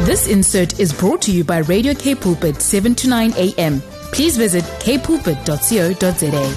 This insert is brought to you by Radio K Pulpit 7 to 9 a.m. Please visit kpulpit.co.za.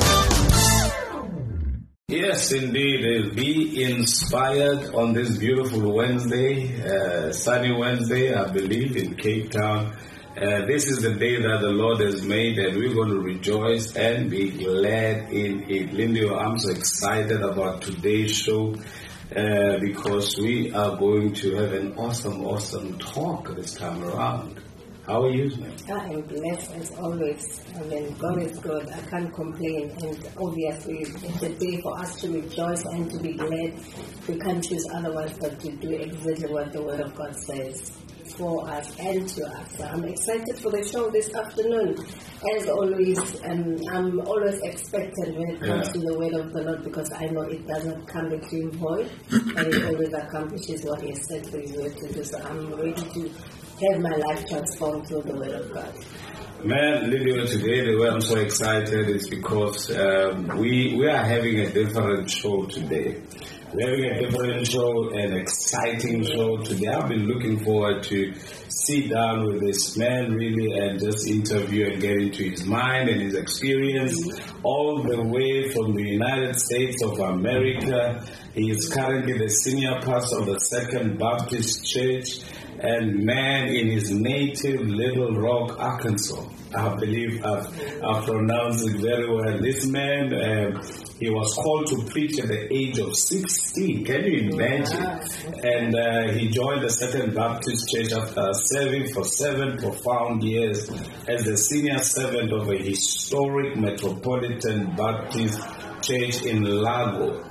Yes, indeed. Be inspired on this beautiful Wednesday, sunny Wednesday, I believe, in Cape Town. This is the day that the Lord has made, and we're going to rejoice and be glad in it. Lindy, I'm so excited about today's show because we are going to have an awesome talk this time around. How are you, man? I am blessed as always. I mean, God is good. I can't complain. And obviously, it's a day for us to rejoice and to be glad. We can't choose otherwise but to do exactly what the Word of God says for us and to us. So I'm excited for the show this afternoon. As always, I'm always expectant when it comes to the Word of the Lord, because I know it doesn't come between void, and it always accomplishes what He has said for His Word to do. So I'm ready to have my life transformed through the Word of God. Man, Lydia, today the way I'm so excited is because we are having a different show today. We're having a different show, an exciting show today. I've been looking forward to sit down with this man really and just interview and get into his mind and his experience all the way from the United States of America. He is currently the senior pastor of the Second Baptist Church, and man, in his native Little Rock, Arkansas. I believe I've pronounced it very well. This man, he was called to preach at the age of 16. Can you imagine? And he joined the Second Baptist Church after serving for 7 profound years as the senior servant of a historic Metropolitan Baptist Church in Lago.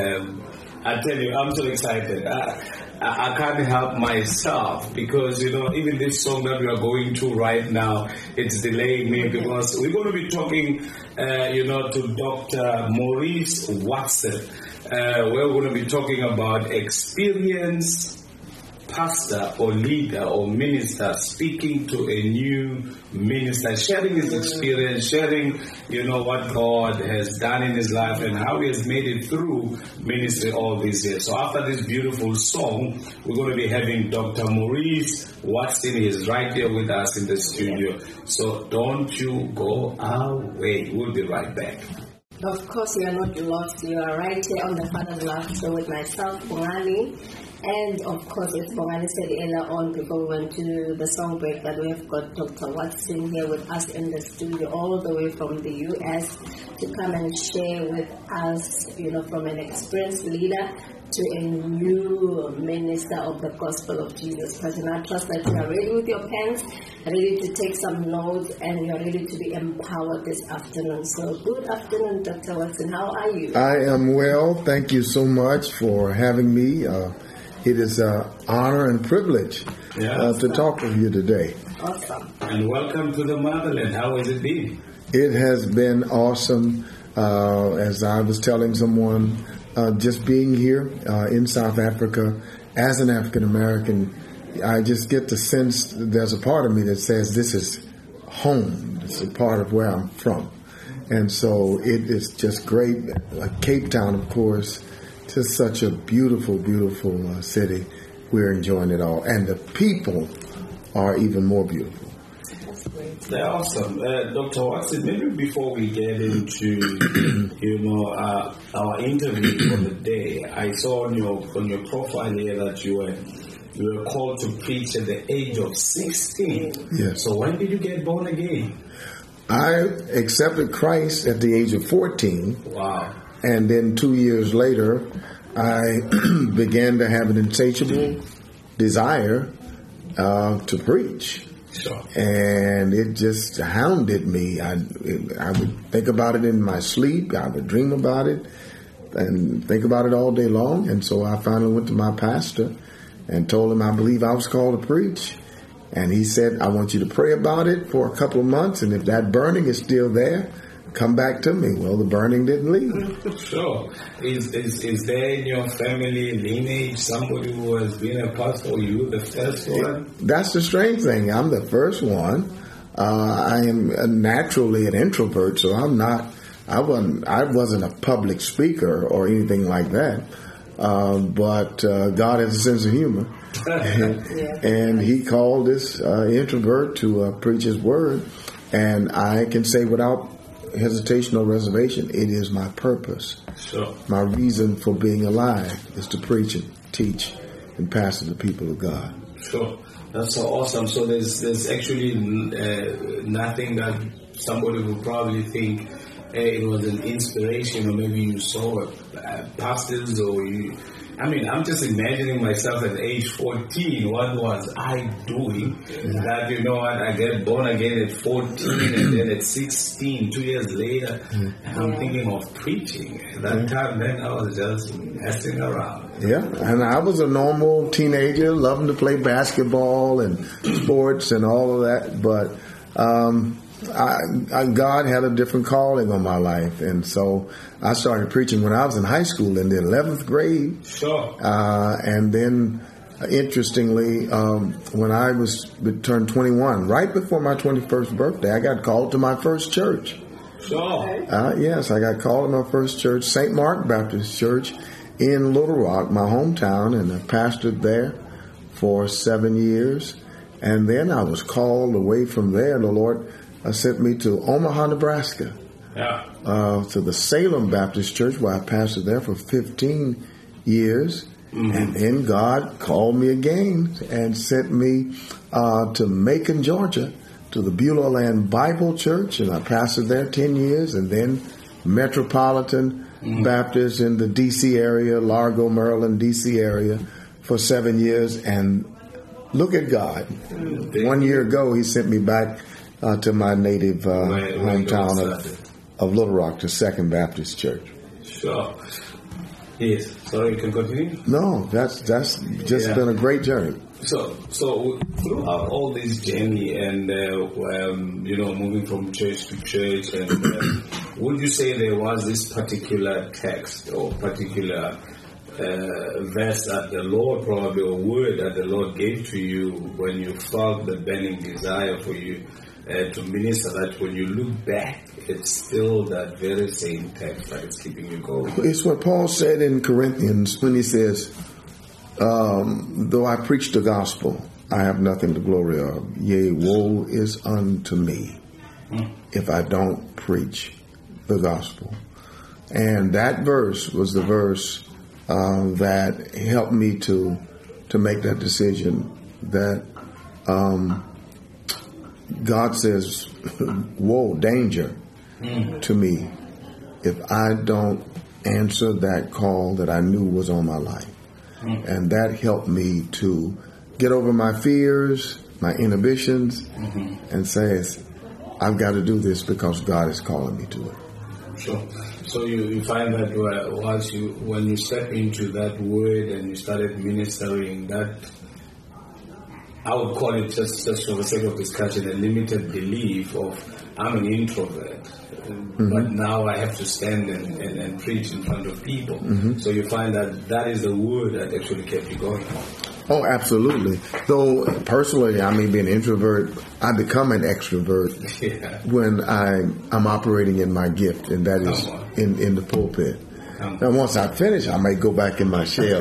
I tell you, I'm so excited. I can't help myself because, even this song that we are going to right now, it's delaying me because we're going to be talking, to Dr. Maurice Watson. We're going to be talking about experienced pastor or leader or minister speaking to a new minister, sharing his experience, sharing, what God has done in his life and how he has made it through ministry all these years. So after this beautiful song, we're going to be having Dr. Maurice Watson. He is right here with us in the studio. So don't you go away. We'll be right back. Of course, you are not lost. You are right here on the Father's Love Show with myself, Bongani. And of course, as Bongani said earlier on, before we went to the song break, that we have got Dr. Watson here with us in the studio, all the way from the U.S. to come and share with us, from an experienced leader to a new minister of the gospel of Jesus Christ. And I trust that you are ready with your pens, ready to take some notes, and you're ready to be empowered this afternoon. So good afternoon, Dr. Watson. How are you? I am well. Thank you so much for having me. It is an honor and privilege to talk with you today. Awesome. And welcome to the motherland. How has it been? It has been awesome. As I was telling someone, just being here in South Africa as an African American, I just get the sense there's a part of me that says this is home. It's a part of where I'm from. And so it is just great. Cape Town, of course, just such a beautiful, beautiful city. We're enjoying it all. And the people are even more beautiful. They're awesome. Dr. Watson, maybe before we get into, our interview for the day, I saw on your profile here that you were called to preach at the age of 16. Yes. So when did you get born again? I accepted Christ at the age of 14. Wow. And then 2 years later, I began to have an insatiable desire to preach. Sure. And it just hounded me. I would think about it in my sleep. I would dream about it and think about it all day long. And so I finally went to my pastor and told him I believe I was called to preach. And he said, I want you to pray about it for a couple of months. And if that burning is still there, come back to me. Well, the burning didn't leave. Sure. Is there in your family lineage somebody who has been a pastor, or you the first one? That's the strange thing. I'm the first one. I am naturally an introvert, so I wasn't a public speaker or anything like that. but God has a sense of humor. And he called this introvert to preach his word. And I can say without hesitation or reservation, it is my purpose. Sure. My reason for being alive is to preach and teach and pastor the people of God. Sure. That's so awesome. So there's actually nothing that somebody would probably think, hey, it was an inspiration, or maybe you saw pastors, or you. I mean, I'm just imagining myself at age 14. What was I doing? That, you know what, I get born again at 14, and then at 16, 2 years later, I'm thinking of preaching. At that time, then I was just messing around. Yeah, and I was a normal teenager, loving to play basketball and sports and all of that, but God had a different calling on my life, and so I started preaching when I was in high school in the 11th grade. Sure. And then, interestingly, when I turned 21, right before my 21st birthday, I got called to my first church. Sure. Yes, I got called to my first church, St. Mark Baptist Church in Little Rock, my hometown, and I pastored there for 7 years. And then I was called away from there. The Lord sent me to Omaha, Nebraska, to the Salem Baptist Church, where I pastored there for 15 years. And then God called me again and sent me to Macon, Georgia, to the Beulah Land Bible Church, and I pastored there 10 years, and then Metropolitan Baptist in the D.C. area, Largo, Maryland, D.C. area for 7 years. And look at God. 1 year ago, he sent me back to my native hometown of Little Rock, to Second Baptist Church. Sure. Yes. So you can continue? No, that's just been a great journey. So throughout all this journey and, moving from church to church, and would you say there was this particular text or particular verse that the Lord, probably, or word that the Lord gave to you when you felt the burning desire for you to minister, that when you look back, it's still that very same text that is keeping you going? It's what Paul said in Corinthians when he says, though I preach the gospel, I have nothing to glory of. Yea, woe is unto me if I don't preach the gospel. And that verse was the verse that helped me to make that decision, that God says, woe, danger to me if I don't answer that call that I knew was on my life. And that helped me to get over my fears, my inhibitions, and says, I've got to do this because God is calling me to it. Sure. So you find that when you step into that word and you started ministering, that I would call it, just for the sake of discussion, a limited belief of I'm an introvert, but now I have to stand and preach in front of people. So you find that is the word that actually kept you going. Oh, absolutely. Though personally, I may be an introvert, I become an extrovert when I'm operating in my gift, and that is in the pulpit. Now, once I finish, I may go back in my shell.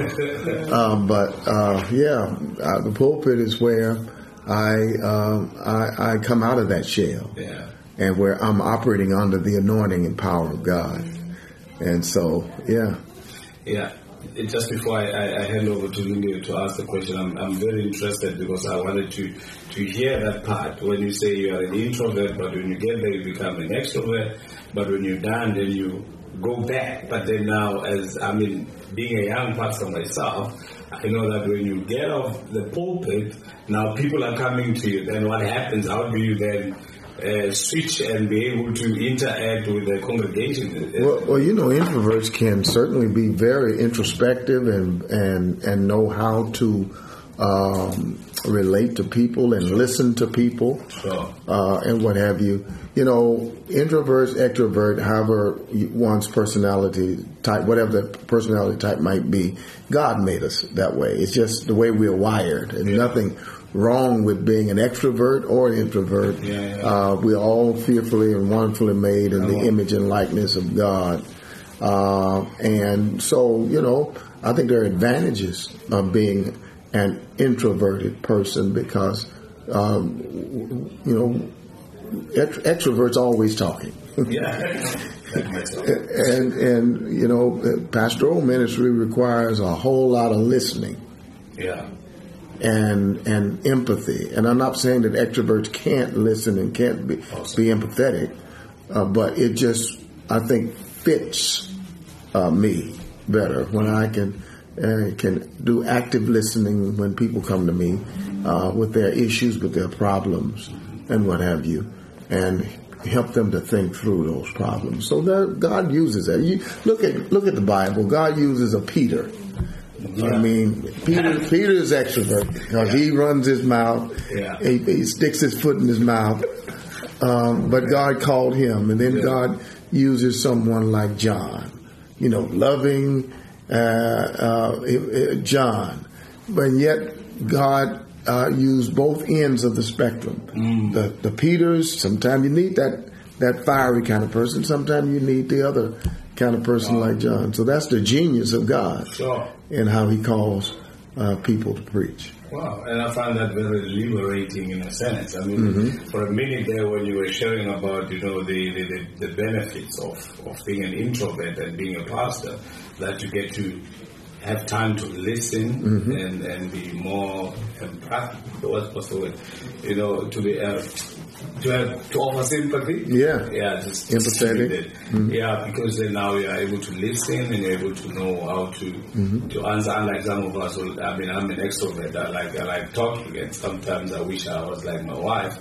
The pulpit is where I come out of that shell, and where I'm operating under the anointing and power of God. And so, just before I hand over to Lindy to ask the question, I'm very interested, because I wanted to hear that part when you say you are an introvert, but when you get there you become an extrovert, but when you're done then you go back. But then now, being a young pastor myself, I know that when you get off the pulpit, now people are coming to you. Then what happens? How do you then switch and be able to interact with the congregation? Well, introverts can certainly be very introspective and know how to relate to people and listen to people, and what have you. Introverts, extrovert, however one's personality type, whatever the personality type might be, God made us that way. It's just the way we're wired, and nothing wrong with being an extrovert or an introvert. We're all fearfully and wonderfully made in the image and likeness of God. And so, I think there are advantages of being an introverted person because, extroverts always talking. And pastoral ministry requires a whole lot of listening. Yeah. And empathy. And I'm not saying that extroverts can't listen and can't be empathetic, but it just, I think, fits me better when I can do active listening when people come to me with their issues, with their problems, and what have you, and help them to think through those problems. So God uses that. You look at the Bible. God uses a Peter. I mean, Peter is extrovert because he runs his mouth. Yeah. He sticks his foot in his mouth. But God called him, and then God uses someone like John. Loving John, but yet God used both ends of the spectrum. The Peters. Sometimes you need that fiery kind of person. Sometimes you need the other kind of person like John. So that's the genius of God in how He calls people to preach. Wow, and I find that very liberating in a sense. I mean, for a minute there when you were sharing about, the benefits of being an introvert and being a pastor, that you get to have time to listen and be more empathic. What's the word? To offer sympathy. Just empathetic. Yeah, because then now you are able to listen and you're able to know how to answer. Unlike some of us, I'm an extrovert. I like talking, and sometimes I wish I was like my wife.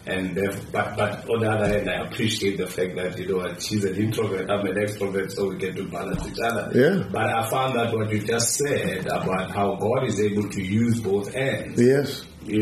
But on the other hand, I appreciate the fact that she's an introvert, I'm an extrovert, so we get to balance each other. Yeah. But I found that what you just said about how God is able to use both ends. Yes.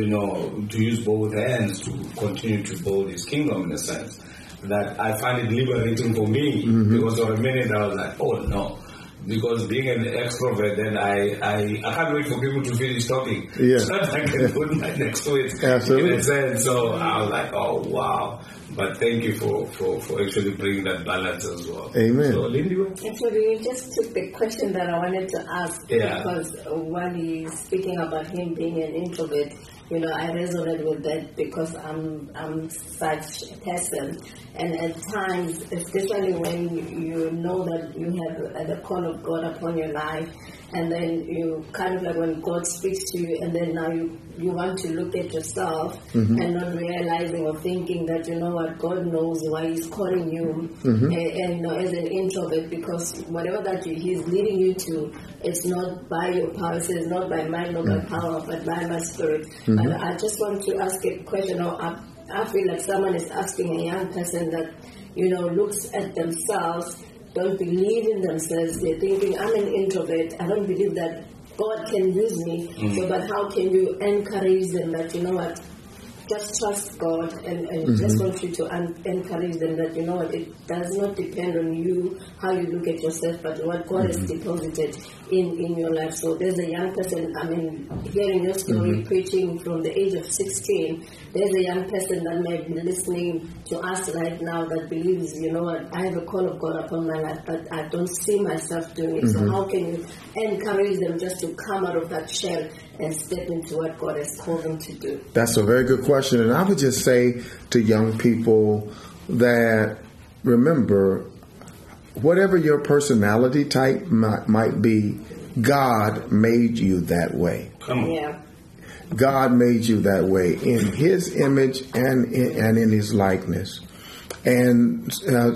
To use both hands to continue to build His kingdom in a sense. That I find it liberating for me because for a minute I was like, oh no. Because being an extrovert, then I can't wait for people to finish talking. Yeah. So that I can put my next to it. Absolutely. In a sense. So I was like, oh wow. But thank you for actually bringing that balance as well. Amen. So Lindy? Actually, you just took the question that I wanted to ask because while he's speaking about him being an introvert, I resonate with that because I'm such a person. And at times, especially when you know that you have the call of God upon your life, and then you kind of like when God speaks to you, and then now you want to look at yourself and not realizing or thinking that, God knows why He's calling you and as an introvert, because whatever that He's leading you to, it's not by your power, it's not by might, not by power, but by my spirit. And I just want to ask a question, I feel like someone is asking a young person that, looks at themselves, don't believe in themselves, they're thinking, I'm an introvert, I don't believe that God can use me, so but how can you encourage them that, just trust God and just want you to encourage them that, it does not depend on you, how you look at yourself, but what God has deposited in your life. So there's a young person, hearing your story, preaching from the age of 16, there's a young person that might be listening to us right now that believes, I have a call of God upon my life, but I don't see myself doing it. So how can you encourage them just to come out of that shell and step into what God has called them to do? That's a very good question. And I would just say to young people that, remember, whatever your personality type might be, God made you that way. Yeah. God made you that way in His image and in His likeness. And,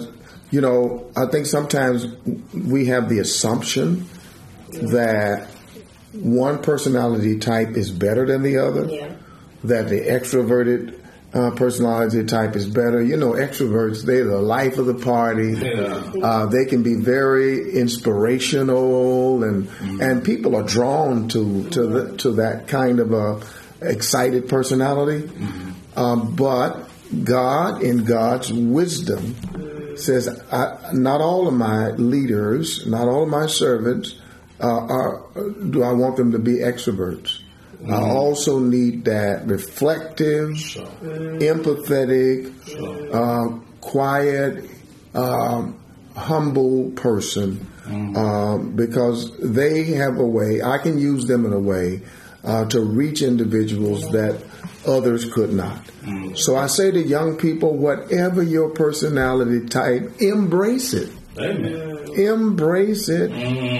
I think sometimes we have the assumption that one personality type is better than the other, that the extroverted personality type is better. Extroverts, they're the life of the party. They can be very inspirational, and people are drawn to that kind of a excited personality. But God, in God's wisdom, says, not all of my leaders, not all of my servants do I want them to be extroverts. I also need that reflective, empathetic, quiet, humble person because they have a way, I can use them in a way to reach individuals that others could not. So I say to young people, whatever your personality type, embrace it. Amen. Embrace it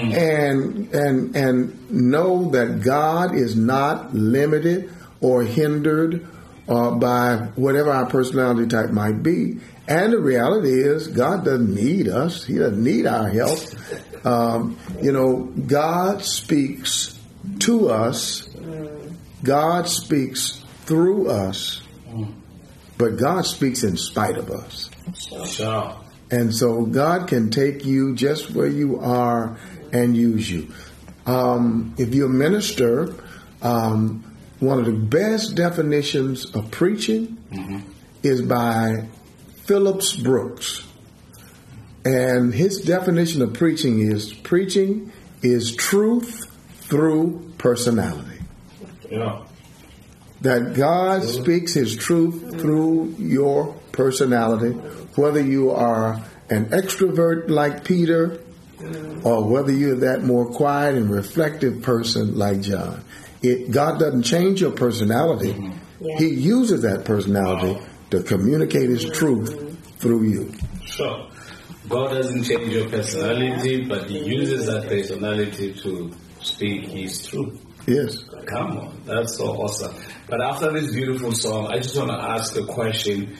and know that God is not limited or hindered by whatever our personality type might be. And the reality is God doesn't need us. He doesn't need our help. God speaks to us. God speaks through us. But God speaks in spite of us. Sure. And so God can take you just where you are and use you. If you're a minister, one of the best definitions of preaching is by Phillips Brooks. And his definition of preaching is truth through personality. Yeah. That God speaks his truth through your personality, whether you are an extrovert like Peter or whether you're that more quiet and reflective person like John. God doesn't change your personality. He uses that personality to communicate his truth through you. Sure. God doesn't change your personality, but he uses that personality to speak his truth. Yes. Come on, that's so awesome. But after this beautiful song, I just want to ask a question,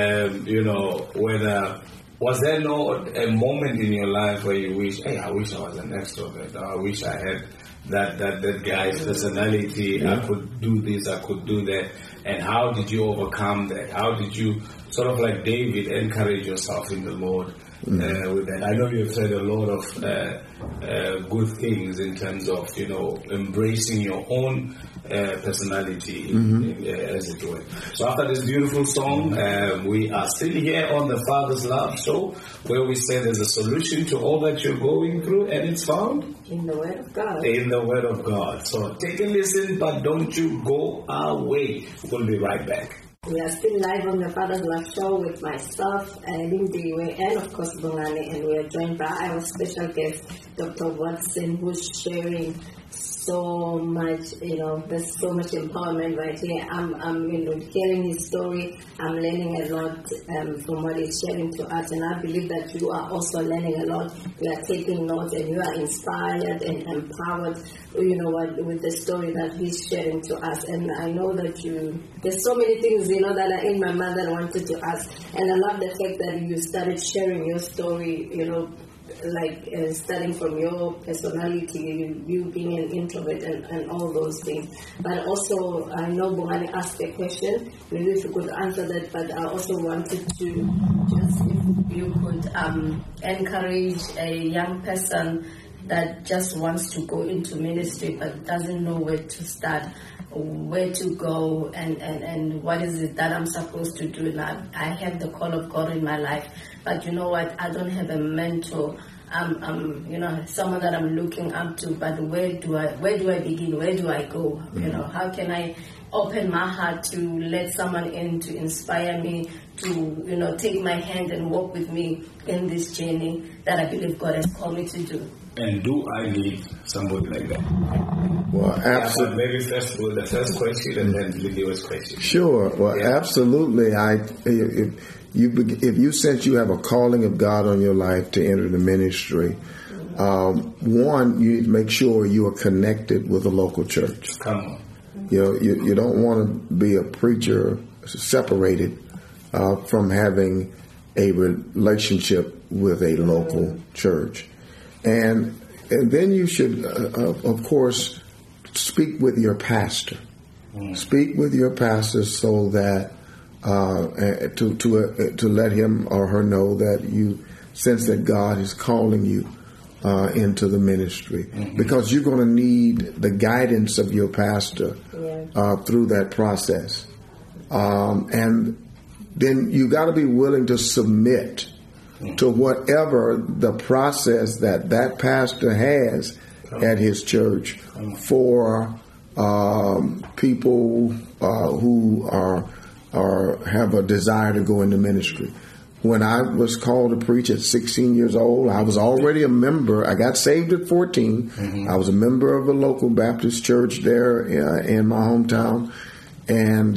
whether, was there a moment in your life where you wish, hey, I wish I was an extrovert, or I wish I had that guy's personality, I could do this, I could do that, and how did you overcome that? How did you, sort of like David, encourage yourself in the Lord with that? I know you've said a lot of good things in terms of, embracing your own personality, as it were. So after this beautiful song, we are still here on the Father's Love Show, where we say there's a solution to all that you're going through, and it's found in the Word of God. In the Word of God. So take a listen, but don't you go away. We'll be right back. We are still live on the Father's Love Show with myself, Lindiwe, and of course Bongani, and we are joined by our special guest, Dr. Watson, who's sharing so much, there's so much empowerment right here. I'm hearing his story. I'm learning a lot from what he's sharing to us, and I believe that you are also learning a lot. You are taking notes, and you are inspired and empowered, with the story that he's sharing to us. And I know that there's so many things, that are in my mind that I wanted to ask. And I love the fact that you started sharing your story, starting from your personality, you being an introvert and all those things. But also, I know Bongani asked a question, maybe if you could answer that, but I also wanted to just, if you could encourage a young person that just wants to go into ministry but doesn't know where to start, where to go, and what is it that I'm supposed to do now. I have the call of God in my life, but you know what? I don't have a mentor. Someone that I'm looking up to. But where do I begin? Where do I go? How can I open my heart to let someone in to inspire me to take my hand and walk with me in this journey that I believe God has called me to do. And do I need somebody like that? Well, absolutely. Maybe first with the first question and then Lydia's question. Sure. Well, absolutely. If you sense you have a calling of God on your life to enter the ministry, one, you need to make sure you are connected with a local church. Come on. You don't want to be a preacher separated from having a relationship with a local church. And then you should, of course, speak with your pastor. Speak with your pastor so that to let him or her know that you sense that God is calling you into the ministry, because you're going to need the guidance of your pastor through that process. And then you got to be willing to submit to whatever the process that pastor has at his church for people who are have a desire to go into ministry. when I was called to preach at 16 years old, I was already a member. I got saved at 14. I was a member of a local Baptist church there in my hometown. And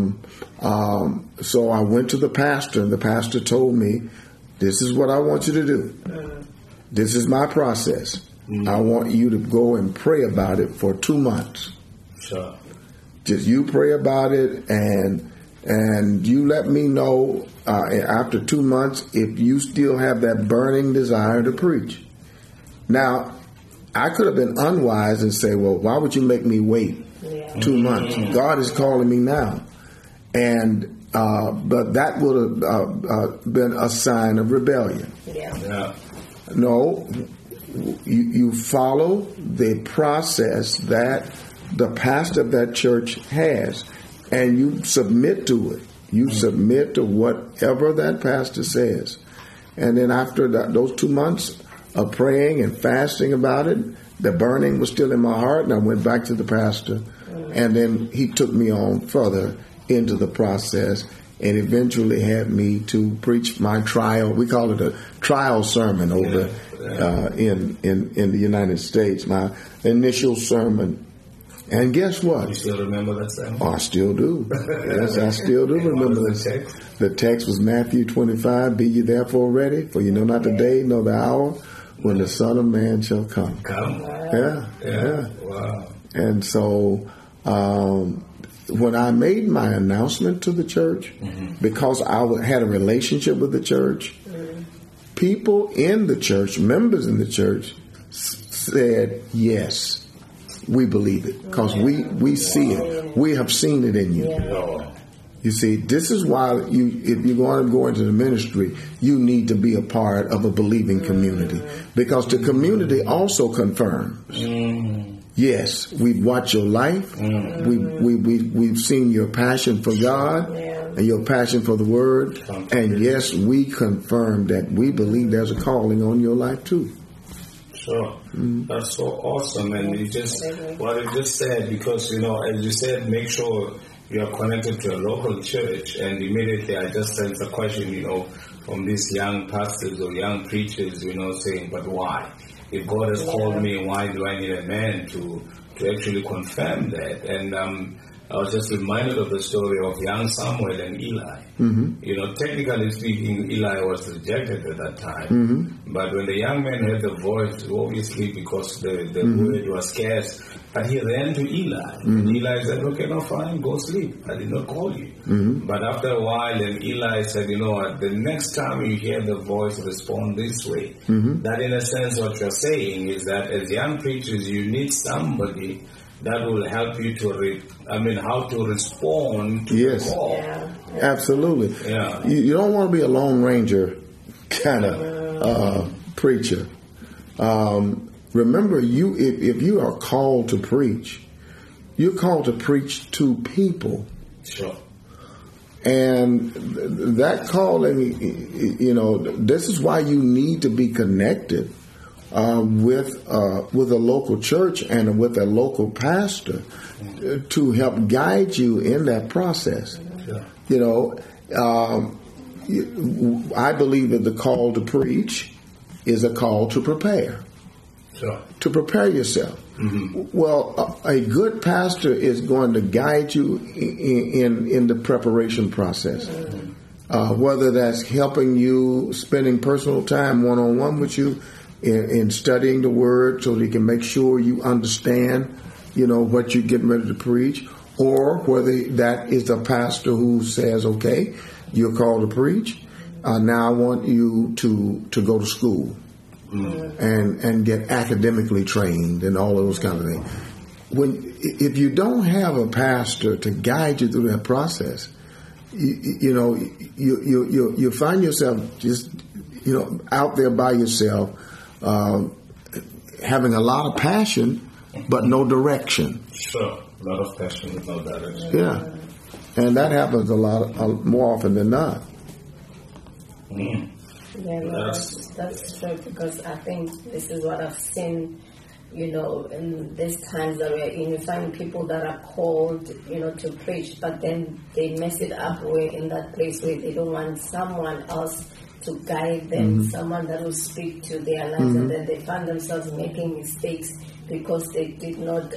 so I went to the pastor, and the pastor told me, this is what I want you to do. This is my process. I want you to go and pray about it for 2 months. Sure. Just you pray about it, and you let me know after 2 months if you still have that burning desire to preach. Now, I could have been unwise and say, well, why would you make me wait 2 months? God is calling me now. And but that would have been a sign of rebellion. Yeah. No, you follow the process that the pastor of that church has, and you submit to it. You submit to whatever that pastor says. And then after those 2 months of praying and fasting about it, the burning was still in my heart, and I went back to the pastor. And then he took me on further into the process and eventually had me to preach my trial. We call it a trial sermon over in the United States, my initial sermon. And guess what? You still remember that sermon? Oh, I still do. Yes, I still do remember the this. text? The text was Matthew 25, be ye therefore ready, for you know not the day nor the hour when the Son of Man shall come. Yeah. Wow. And so when I made my announcement to the church, because I had a relationship with the church, people in the church, members in the church, said, yes, we believe it, because we see it. We have seen it in you. You see, this is why if you're going to go into the ministry, you need to be a part of a believing community, because the community also confirms. Yes, we've watched your life. We've seen your passion for God and your passion for the Word. And yes, we confirm that we believe there's a calling on your life too. Sure. That's so awesome. And what you just said, because, as you said, make sure you are connected to a local church. And immediately I just sensed a question, from these young pastors or young preachers, saying, but why? If God has called me, why do I need a man to actually confirm that? And I was just reminded of the story of young Samuel and Eli. Technically speaking, Eli was rejected at that time. But when the young man heard the voice, obviously because the word was scarce, but he ran to Eli. And Eli said, okay, no, fine, go sleep. I did not call you. But after a while, then Eli said, the next time you hear the voice, respond this way. That in a sense what you're saying is that as young preachers, you need somebody that will help you how to respond to the call. Absolutely. Yeah. You don't want to be a Lone Ranger kind of preacher. Remember, if you are called to preach, you're called to preach to people. Sure. And that calling, this is why you need to be connected with a local church and with a local pastor to help guide you in that process. I believe that the call to preach is a call to prepare. Sure. To prepare yourself. Well, a good pastor is going to guide you in the preparation process. Whether that's helping you, spending personal time one-on-one with you, in studying the Word so that you can make sure you understand, what you're getting ready to preach, or whether that is a pastor who says, okay, you're called to preach. Now I want you to go to school and get academically trained and all of those kind of things. If you don't have a pastor to guide you through that process, you find yourself just, out there by yourself, having a lot of passion, but no direction. Sure, a lot of passion with no direction. Yeah, and that happens a lot more often than not. Yeah, that's true, because I think this is what I've seen in these times that we're in, you find people that are called, to preach, but then they mess it up in that place where they don't want someone else to guide them, someone that will speak to their lives, and then they find themselves making mistakes because they did not,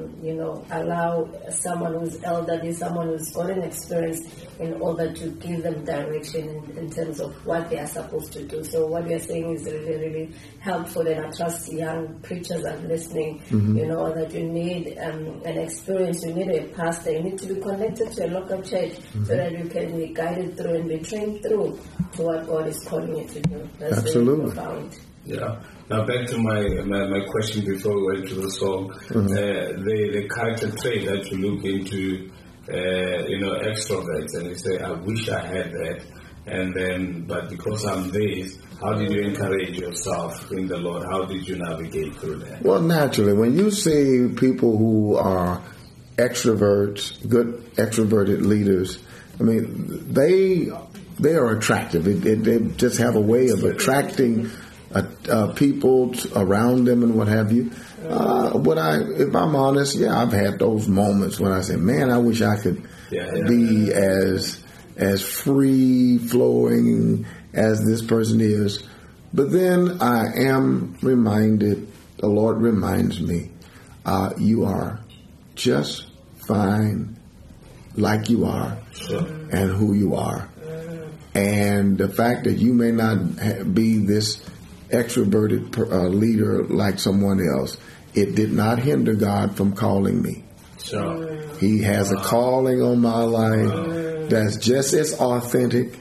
allow someone who's elderly, someone who's got an experience in order to give them direction in terms of what they are supposed to do. So what we are saying is really, really helpful, and I trust young preachers are listening, that you need an experience, you need a pastor, you need to be connected to a local church so that you can be guided through and be trained through to what God is calling you to do. That's Absolutely. Really profound. Yeah. Now back to my question before we went to the song. The character trait that you look into, extroverts, and you say, I wish I had that, and then, but because I'm this, how did you encourage yourself in the Lord? How did you navigate through that? Well, naturally, when you see people who are extroverts, good extroverted leaders, I mean, they are attractive. They just have a way of attracting people around them and what have you. If I'm honest, I've had those moments when I say, man, I wish I could be as free flowing as this person is. But then I am reminded, the Lord reminds me, you are just fine like you are and who you are. And the fact that you may not be this extroverted leader like someone else, it did not hinder God from calling me. Sure. He has a calling on my life that's just as authentic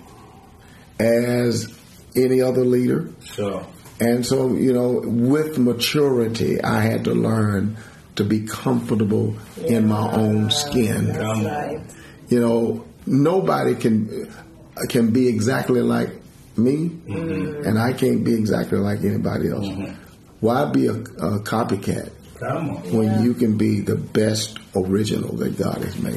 as any other leader. Sure. And so, with maturity, I had to learn to be comfortable in my own skin. That's right. Nobody can be exactly like me, and I can't be exactly like anybody else. Why be a copycat when you can be the best original that God has made?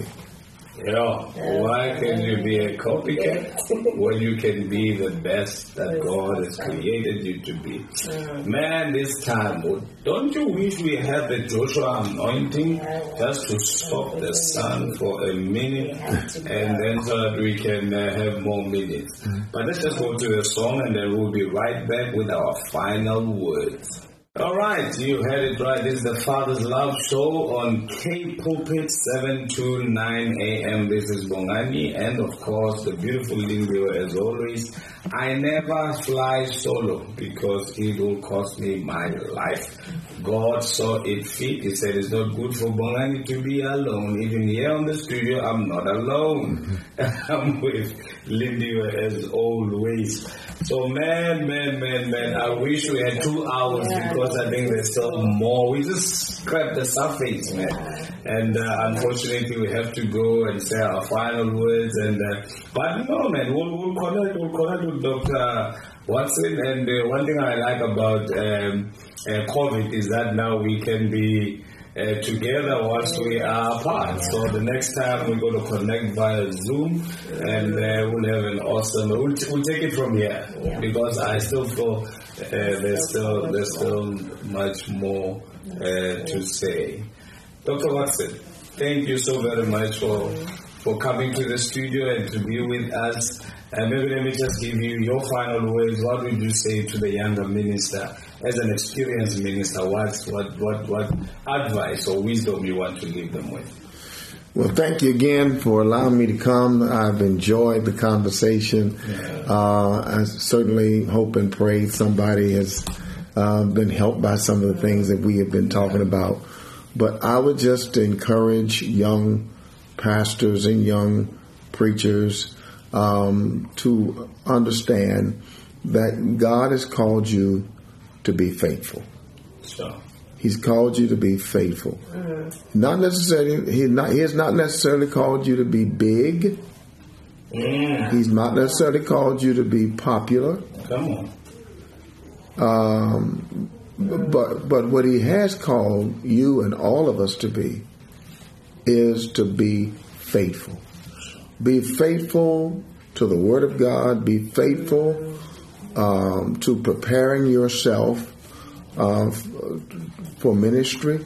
Why can you be a copycat when you can be the best that God has created you to be? Man, this time, don't you wish we had the Joshua anointing just to stop the sun for a minute and then so that we can have more minutes? But let's just go to the song and then we'll be right back with our final words. All right, you heard it right. This is the Father's Love Show on K Pulpit 7 to 9 a.m. This is Bongani and, of course, the beautiful Lindio as always. I never fly solo because it will cost me my life. God saw it fit. He said it's not good for Bongani to be alone. Even here on the studio, I'm not alone. I'm with Lindio as always. So, man, I wish we had 2 hours because I think there's still more. We just scratched the surface, man. And unfortunately, we have to go and say our final words. But no, man, we'll connect with Dr. Watson. And one thing I like about COVID is that now we can be together whilst we are apart. So the next time we're going to connect via Zoom, and we'll have an awesome. We'll take it from here because I still feel there's still much more to say. Dr. Watson, thank you so very much for coming to the studio and to be with us. And maybe let me just give you your final words. What would you say to the younger minister, as an experienced minister? What advice or wisdom you want to leave them with? Well, thank you again for allowing me to come. I've enjoyed the conversation. I certainly hope and pray somebody has been helped by some of the things that we have been talking about. But I would just encourage young pastors and young preachers to understand that God has called you to be faithful. Sure. He's called you to be faithful. Not necessarily. He has not necessarily called you to be big. He's not necessarily called you to be popular. Come on. But what he has called you and all of us to be is to be faithful. Be faithful to the Word of God. Be faithful to preparing yourself for ministry.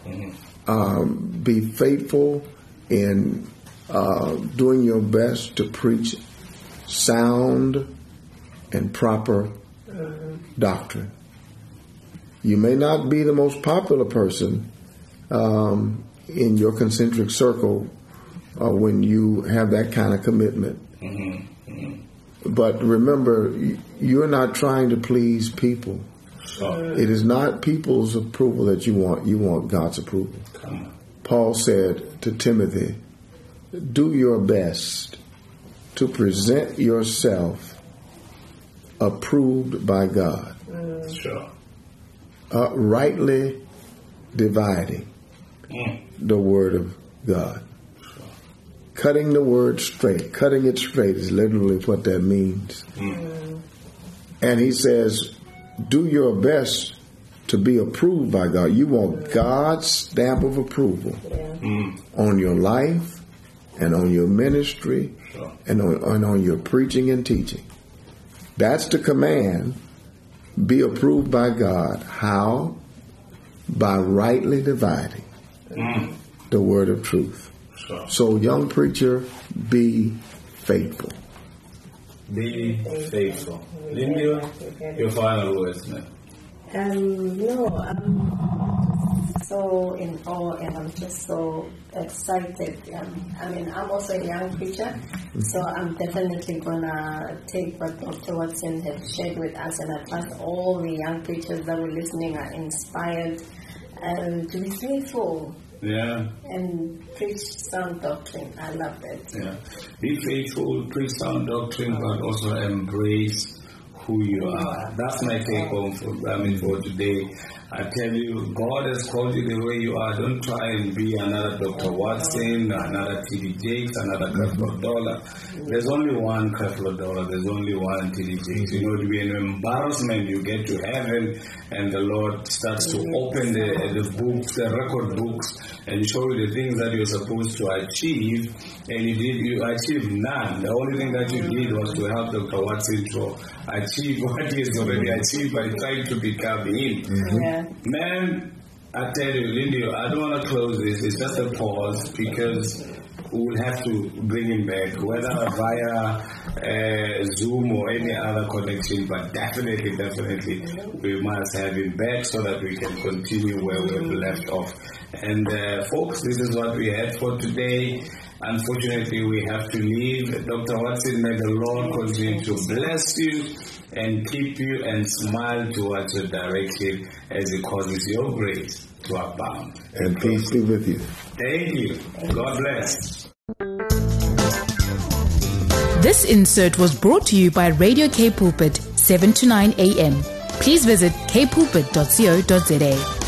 Be faithful in doing your best to preach sound and proper doctrine. You may not be the most popular person in your concentric circle when you have that kind of commitment. But remember, you're not trying to please people. It is not people's approval that you want. You want God's approval. Paul said to Timothy, do your best to present yourself approved by God. Rightly dividing the word of God. Cutting the word straight. Cutting it straight is literally what that means. And he says, do your best to be approved by God. You want God's stamp of approval on your life and on your ministry and on your preaching and teaching. That's the command. Be approved by God. How? By rightly dividing the word of truth. So, young preacher, be faithful. Be faithful. Lindy, your final words, man. No, I'm so in awe and I'm just so excited. I'm also a young preacher, so I'm definitely going to take what Dr. Watson has shared with us, and I trust all the young preachers that were listening are inspired to be faithful. And preach sound doctrine. I love it. Be faithful, preach sound doctrine, but also embrace who you are. That's my take home for today. I tell you, God has called you the way you are. Don't try and be another Dr. Watson, another T.D. Jakes, another Creflo Dollar. There's only one Creflo Dollar. There's only one T.D. Jakes. It will be an embarrassment. You get to heaven and the Lord starts to open the books, the record books, and show you the things that you're supposed to achieve, and you achieved none. The only thing that you did was to help Dr. Watson to achieve what he has already achieved by trying to become him. Man, I tell you, Lindy, I don't want to close this. It's just a pause because we will have to bring him back, whether via Zoom or any other connection, but definitely we must have him back so that we can continue where we've left off. And folks, this is what we had for today. Unfortunately, we have to leave. Dr. Watson, may the Lord continue to bless you and keep you and smile towards your direction as He causes your grace to abound. And peace be with you. Thank you. God bless. This insert was brought to you by Radio K Pulpit, 7 to 9 a.m. Please visit kpulpit.co.za.